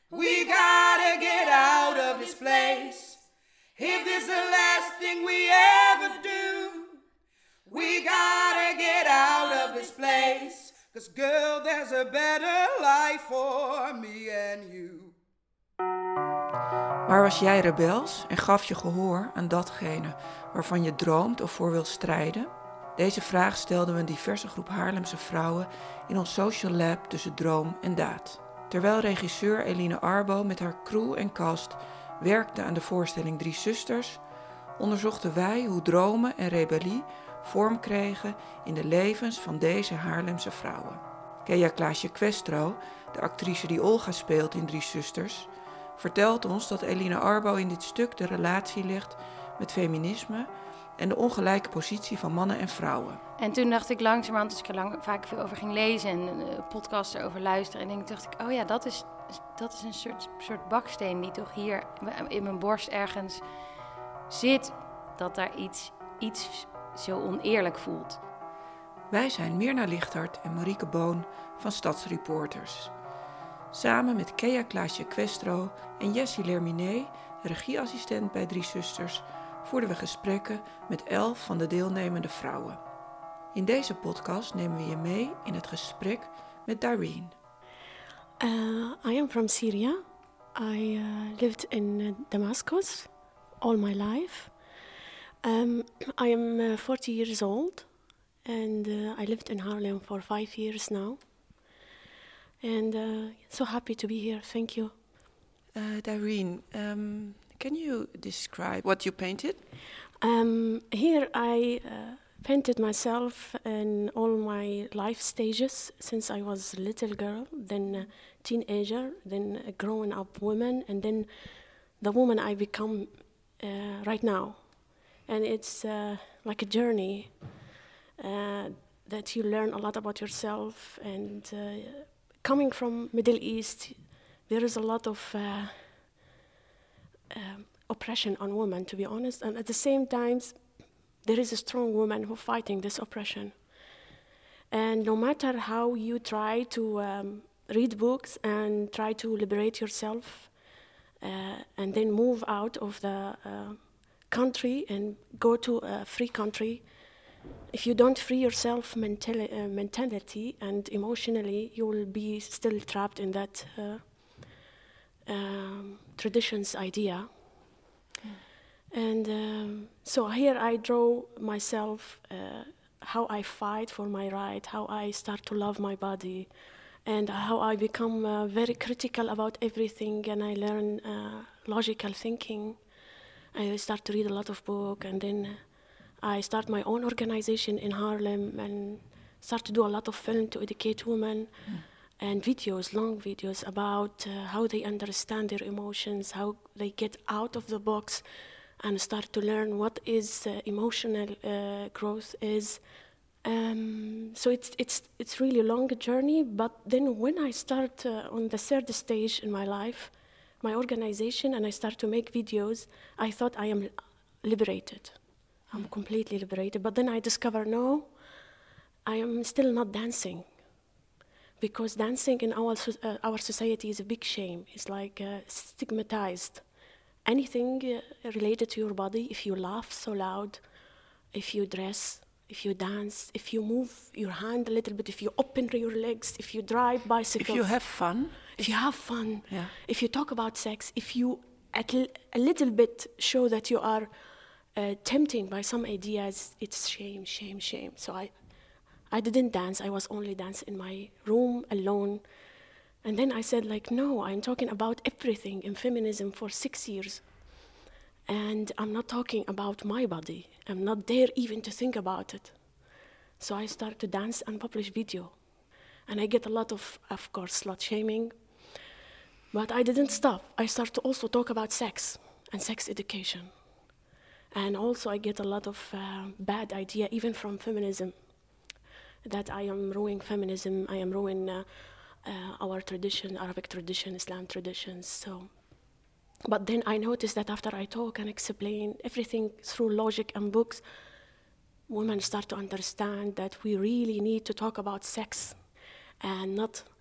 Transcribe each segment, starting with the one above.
We gotta get out of this place. If this is the last thing we ever do, we gotta get out of this place. 'Cause girl, there's a better life for me and you. Maar was jij rebels en gaf je gehoor aan datgene waarvan je droomt of voor wil strijden? Deze vraag stelden we een diverse groep Haarlemse vrouwen in ons social lab tussen droom en daad. Terwijl regisseur Eline Arbo met haar crew en cast werkte aan de voorstelling Drie Zusters, onderzochten wij hoe dromen en rebellie vorm kregen in de levens van deze Haarlemse vrouwen. Kea Klaasje Questro, de actrice die Olga speelt in Drie Zusters, vertelt ons dat Eline Arbo in dit stuk de relatie legt met feminisme en de ongelijke positie van mannen en vrouwen. En toen dacht ik langzamerhand, als ik er vaak veel over ging lezen en podcasts erover luisteren, en dacht ik, oh ja, dat is een soort baksteen die toch hier in mijn borst ergens zit, dat daar iets zo oneerlijk voelt. Wij zijn Myrna Lichthart en Marieke Boon van Stadsreporters. Samen met Kea Klaasje Questro en Jessie Lerminé, regieassistent bij Drie Zusters, voerden we gesprekken met 11 van de deelnemende vrouwen. In deze podcast nemen we je mee in het gesprek met Dareen. I am from Syria. I lived in Damascus all my life. I am 40 years old and I lived in Harlem for 5 years now. And so happy to be here. Thank you. Dareen, can you describe what you painted? Here I painted myself in all my life stages since I was a little girl, then a teenager, then a grown up woman, and then the woman I become right now. And it's like a journey that you learn a lot about yourself. And coming from Middle East, there is a lot of oppression on women, to be honest, and at the same time there is a strong woman who fighting this oppression. And no matter how you try to read books and try to liberate yourself and then move out of the country and go to a free country, if you don't free yourself mentality and emotionally, you will be still trapped in that traditions idea. And so here I draw myself how I fight for my right, how I start to love my body, and how I become very critical about everything, and I learn logical thinking. I start to read a lot of books, and then I start my own organization in Harlem and start to do a lot of film to educate women and videos, long videos about how they understand their emotions, how they get out of the box and start to learn what is emotional growth is. So it's really a long journey, but then when I start on the third stage in my life, my organization, and I start to make videos, I thought I am liberated. I'm completely liberated. But then I discover, no, I am still not dancing. Because dancing in our society is a big shame. It's like stigmatized. Anything related to your body, if you laugh so loud, if you dress, if you dance, if you move your hand a little bit, if you open your legs, if you drive bicycles. If you have fun. If you have fun. Yeah. If you talk about sex, if you a little bit show that you are tempting by some ideas, it's shame, shame, shame. So I didn't dance. I was only dancing in my room alone. And then I said, like, no, I'm talking about everything in feminism for 6 years. And I'm not talking about my body. I'm not there even to think about it. So I start to dance and publish video. And I get a lot of course, slut shaming. But I didn't stop. I start to also talk about sex and sex education. And also I get a lot of bad idea, even from feminism, that I am ruining feminism, I am ruining our tradition, Arabic tradition, Islam traditions. So, but then I noticed that after I talk and explain everything through logic and books, women start to understand that we really need to talk about sex and not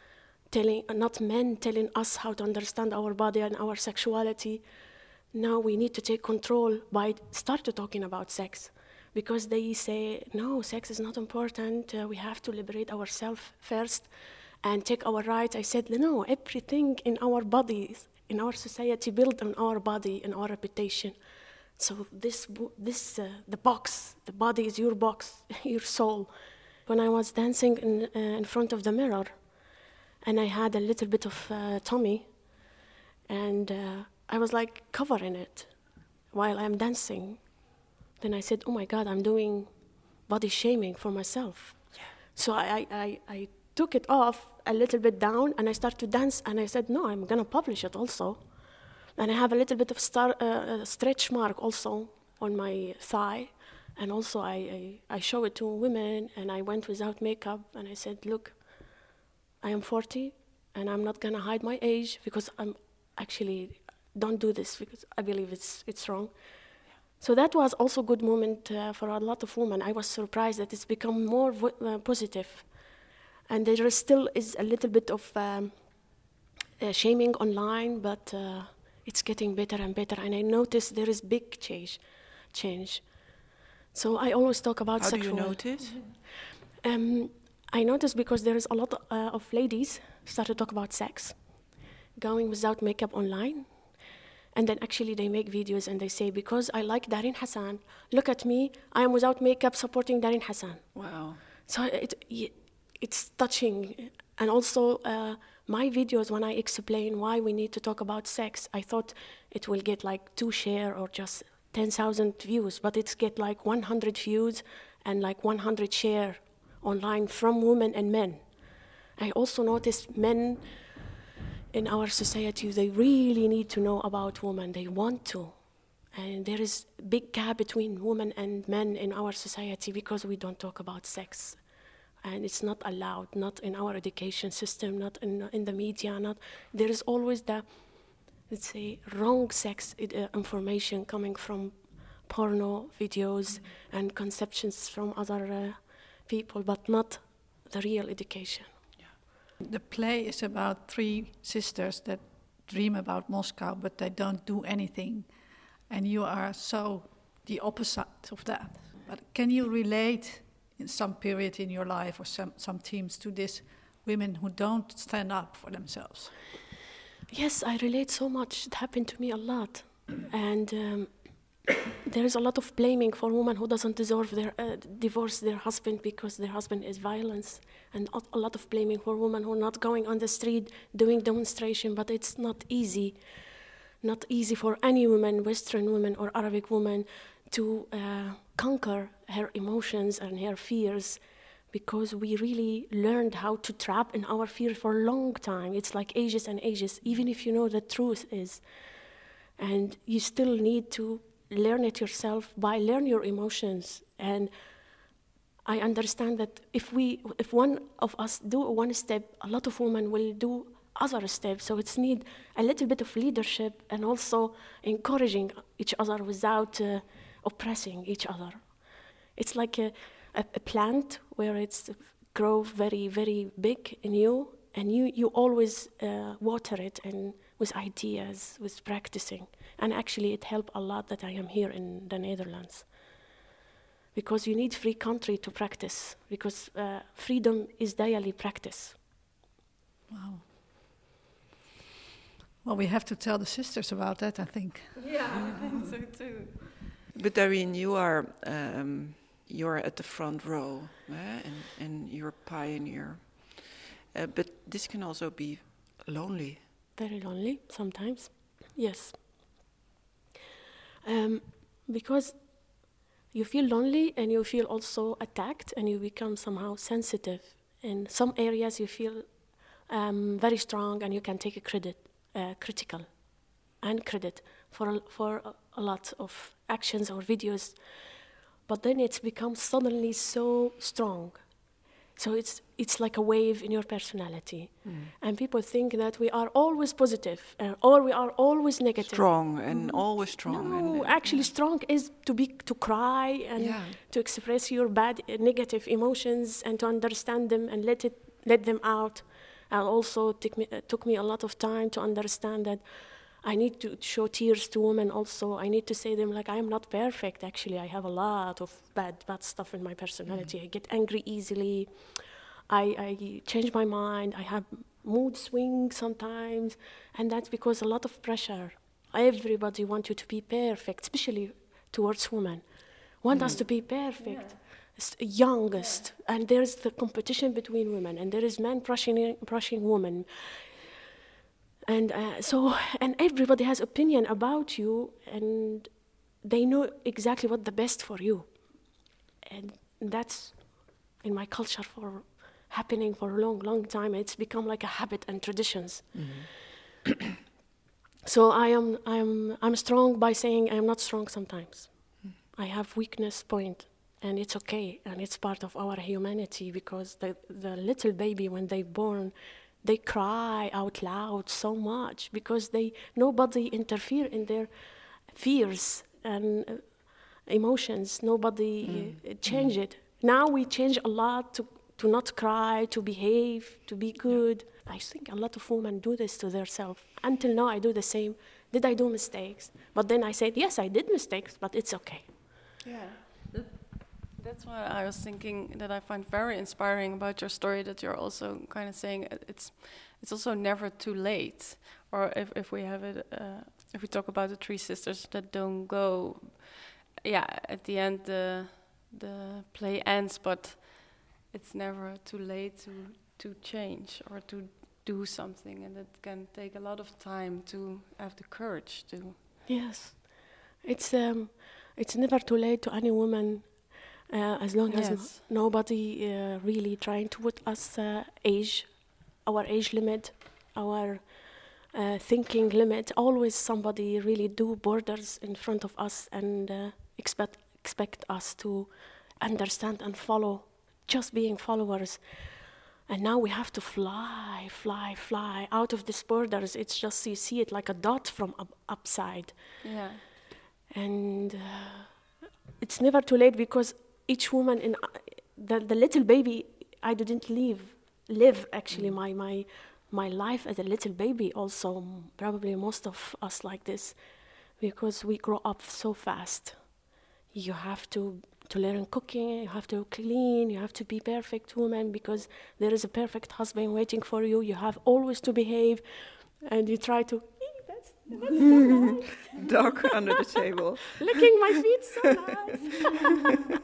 not men telling us how to understand our body and our sexuality. Now we need to take control by start talking about sex, because they say, no, sex is not important. We have to liberate ourselves first and take our rights. I said, no, everything in our bodies, in our society, built on our body and our reputation. So the box, the body is your box, your soul. When I was dancing in front of the mirror, and I had a little bit of tummy, and I was like covering it while I'm dancing. Then I said, oh my God, I'm doing body shaming for myself. Yeah. So I took it off a little bit down, and I started to dance, and I said, no, I'm gonna publish it also. And I have a little bit of stretch mark also on my thigh. And also I show it to women, and I went without makeup, and I said, look, I am 40, and I'm not gonna hide my age, because I'm actually, don't do this, because I believe it's wrong. So that was also a good moment for a lot of women. I was surprised that it's become more positive. And there still is a little bit of shaming online, but it's getting better and better. And I noticed there is big change. So I always talk about sexual. How do you notice? I noticed because there is a lot of ladies start to talk about sex, going without makeup online. And then actually they make videos and they say, because I like Darine Hassan, look at me, I am without makeup supporting Darine Hassan. Wow. So it's touching. And also my videos, when I explain why we need to talk about sex, I thought it will get like 2 share or just 10,000 views, but it's get like 100 views and like 100 share online from women and men. I also noticed men in our society, they really need to know about women. They want to. And there is a big gap between women and men in our society because we don't talk about sex. And it's not allowed, not in our education system, not in the media. There is always the, let's say, wrong sex information coming from porno videos and conceptions from other people, but not the real education. The play is about 3 sisters that dream about Moscow, but they don't do anything. And you are so the opposite of that. But can you relate in some period in your life or some teams to these women who don't stand up for themselves? Yes, I relate so much. It happened to me a lot. And there is a lot of blaming for women who doesn't deserve their divorce their husband because their husband is violence, and a lot of blaming for women who are not going on the street doing demonstration. But it's not easy for any woman, Western woman or Arabic woman, to conquer her emotions and her fears, because we really learned how to trap in our fear for a long time. It's like ages and ages, even if you know the truth is. And you still need to learn it yourself by learn your emotions. And I understand that if one of us do one step, a lot of women will do other steps. So it's need a little bit of leadership and also encouraging each other without oppressing each other. It's like a plant where it's grow very, very big in you, and you always water it and with ideas, with practicing. And actually it helped a lot that I am here in the Netherlands. Because you need free country to practice, because freedom is daily practice. Wow. Well, we have to tell the sisters about that, I think. Yeah, I think so too. But Darine, you're at the front row, and you're a pioneer. But this can also be lonely. Very lonely sometimes, yes. Because you feel lonely and you feel also attacked and you become somehow sensitive. In some areas you feel very strong and you can take critical and credit for a lot of actions or videos. But then it's become suddenly so strong. So it's like a wave in your personality. And people think that we are always positive or we are always negative. Strong and always strong. No, actually strong is to cry and to express your bad negative emotions and to understand them and let them out. And also took me a lot of time to understand that I need to show tears to women also. I need to say them like, I am not perfect, actually. I have a lot of bad stuff in my personality. I get angry easily. I change my mind. I have mood swings sometimes. And that's because a lot of pressure. Everybody wants you to be perfect, especially towards women. Want us to be perfect. Youngest. And there's the competition between women. And there is men brushing women. And and everybody has opinion about you, and they know exactly what the best for you. And that's in my culture happening for a long, long time. It's become like a habit and traditions. Mm-hmm. So I'm strong by saying I'm not strong sometimes. I have weakness point, and it's okay, and it's part of our humanity, because the little baby, when they're born, they cry out loud so much because nobody interfere in their fears and emotions. Nobody change it. Now we change a lot to not cry, to behave, to be good. I think a lot of women do this to themselves. Until now, I do the same. Did I do mistakes? But then I said, yes, I did mistakes, but it's okay. Yeah. That's why I was thinking that I find very inspiring about your story, that you're also kind of saying it's also never too late. Or if we have it, if we talk about the three sisters that don't go, at the end the play ends, but it's never too late to change or to do something, and it can take a lot of time to have the courage to. Yes, it's never too late to any woman. As long as nobody really trying to put us our age limit, our thinking limit. Always somebody really do borders in front of us and expect us to understand and follow, just being followers. And now we have to fly out of these borders. It's just, you see it like a dot from upside. Yeah. And it's never too late, because each woman in the little baby, I didn't live actually my life as a little baby. Also, probably most of us like this, because we grow up so fast. You have to learn cooking, you have to clean, you have to be perfect woman, because there is a perfect husband waiting for you. You have always to behave, and you try to. That's so nice. Dog under the table. Licking my feet, so nice.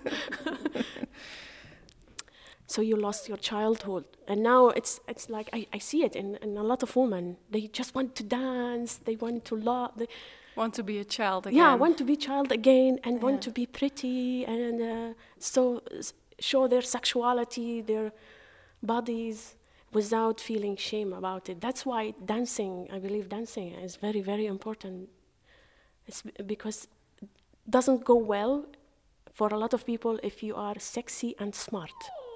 So you lost your childhood, and now it's like I see it in a lot of women. They just want to dance, they want to love. They want to be a child again. Yeah, want to be child again, and want to be pretty, and so show their sexuality, their bodies, without feeling shame about it. That's why dancing, I believe dancing is very, very important. It's because it doesn't go well for a lot of people if you are sexy and smart.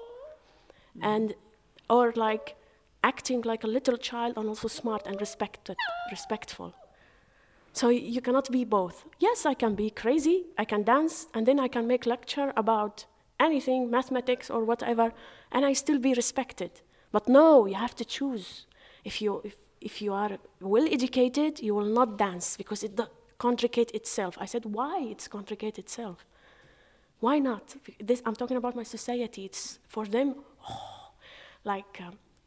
And or like acting like a little child and also smart and respectful. So you cannot be both. Yes, I can be crazy, I can dance, and then I can make lecture about anything, mathematics or whatever, and I still be respected. But no, you have to choose. If you are well educated, you will not dance because it contradicts itself. I said, why it's contradict itself? Why not? This, I'm talking about my society. It's for them, like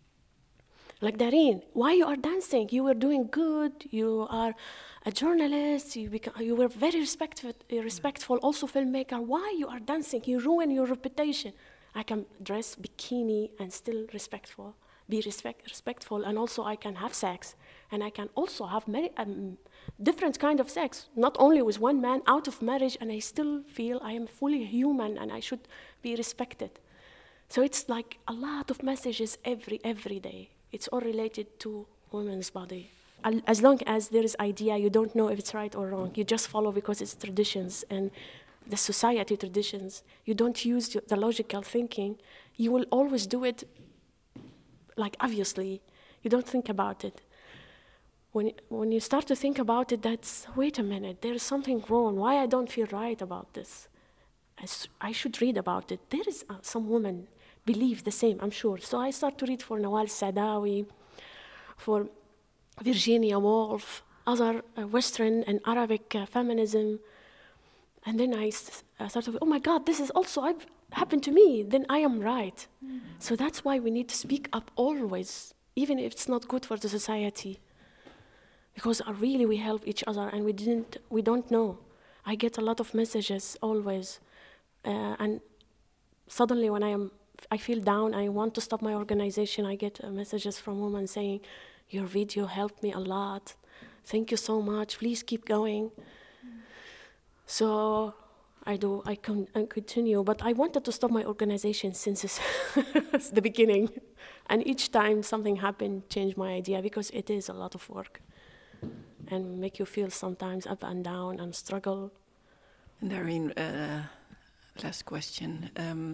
Darine, why you are dancing? You were doing good. You are a journalist. You were very respectful, also filmmaker. Why you are dancing? You ruin your reputation. I can dress bikini and still respectful, respectful, and also I can have sex, and I can also have many different kind of sex, not only with one man out of marriage, and I still feel I am fully human and I should be respected. So it's like a lot of messages every day. It's all related to women's body. As long as there is idea, you don't know if it's right or wrong. You just follow because it's traditions and the society traditions. You don't use the logical thinking. You will always do it, like obviously. You don't think about it. When you start to think about it, that's, wait a minute, there is something wrong. Why I don't feel right about this? I should read about it. There is some woman believe the same, I'm sure. So I start to read for Nawal Saadawi, for Virginia Woolf, other Western and Arabic feminism. And then I started, oh my God, this is also happened to me. Then I am right. So that's why we need to speak up always, even if it's not good for the society. Because really we help each other, and we don't know. I get a lot of messages always. And suddenly when I feel down, I want to stop my organization, I get messages from women saying, your video helped me a lot. Thank you so much. Please keep going. So I continue. But I wanted to stop my organization since the beginning. And each time something happened, changed my idea, because it is a lot of work. And make you feel sometimes up and down and struggle. And Darine, last question.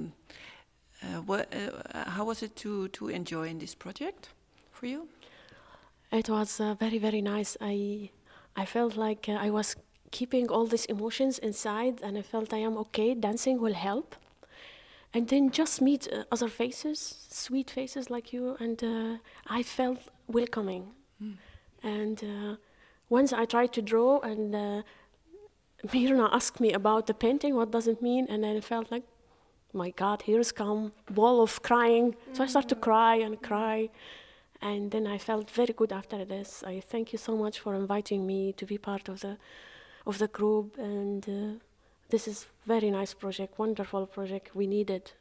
How was it to enjoy in this project for you? It was very, very nice. I felt like I was keeping all these emotions inside, and I felt I am okay. Dancing will help. And then just meet other faces, sweet faces like you, and I felt welcoming. And once I tried to draw, and Mirna asked me about the painting, what does it mean? And I felt like, my God, here's come wall of crying. So I started to cry and cry. And then I felt very good after this. I thank you so much for inviting me to be part of the group. And this is very nice project, wonderful project. We need it.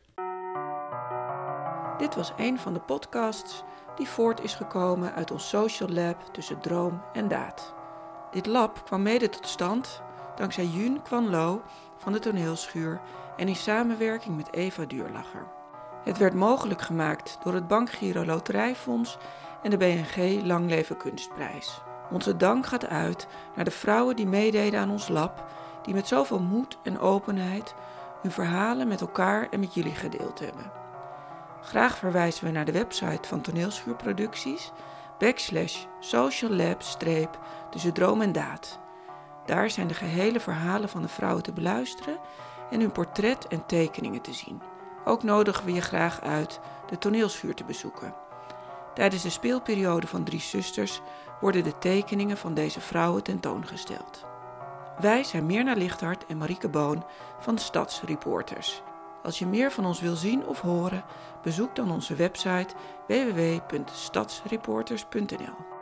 Dit was een van de podcasts die voort is gekomen uit ons social lab tussen droom en daad. Dit lab kwam mede tot stand dankzij Yun Kwan Lo van de Toneelschuur en in samenwerking met Eva Duurlacher. Het werd mogelijk gemaakt door het Bankgiro Loterijfonds en de BNG Lang Leven Kunstprijs. Onze dank gaat uit naar de vrouwen die meededen aan ons lab, die met zoveel moed en openheid hun verhalen met elkaar en met jullie gedeeld hebben. Graag verwijzen we naar de website van Toneelschuurproducties /sociallab-tussen droom en daad. Daar zijn de gehele verhalen van de vrouwen te beluisteren en hun portret en tekeningen te zien. Ook nodigen we je graag uit de Toneelschuur te bezoeken. Tijdens de speelperiode van 3 Zusters worden de tekeningen van deze vrouwen tentoongesteld. Wij zijn Mirna Lichthart en Marieke Boon van de Stadsreporters. Als je meer van ons wil zien of horen, bezoek dan onze website www.stadsreporters.nl.